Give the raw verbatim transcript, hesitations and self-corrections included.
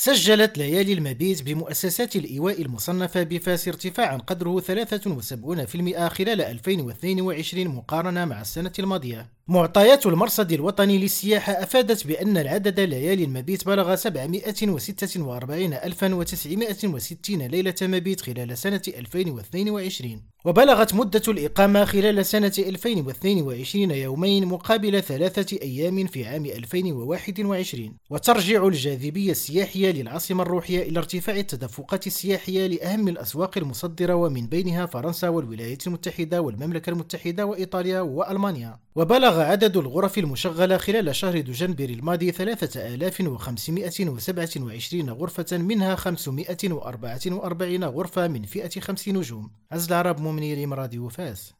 سجلت ليالي المبيت بمؤسسات الإيواء المصنفة بفاس ارتفاعا قدره ثلاثة وسبعين بالمئة خلال ألفين واثنين وعشرين مقارنة مع السنة الماضية. معطيات المرصد الوطني للسياحة أفادت بأن العدد ليالي المبيت بلغ سبعمائة وستة وأربعين ألفا وتسعمائة وستين ليلة مبيت خلال سنة ألفين واثنين وعشرين، وبلغت مدة الإقامة خلال سنة ألفين واثنين وعشرين يومين مقابل ثلاثة أيام في عام ألفين وواحد وعشرين. وترجع الجاذبية السياحية للعاصمة الروحية إلى ارتفاع التدفقات السياحية لأهم الأسواق المصدرة، ومن بينها فرنسا والولايات المتحدة والمملكة المتحدة وإيطاليا وألمانيا. وبلغ عدد الغرف المشغلة خلال شهر دجنبر الماضي ثلاثة آلاف وخمسمائة وسبعة وعشرين غرفة، منها خمسمائة وأربعة وأربعين غرفة من فئة خمس نجوم. عز العرب، مؤمنين راديو فاس.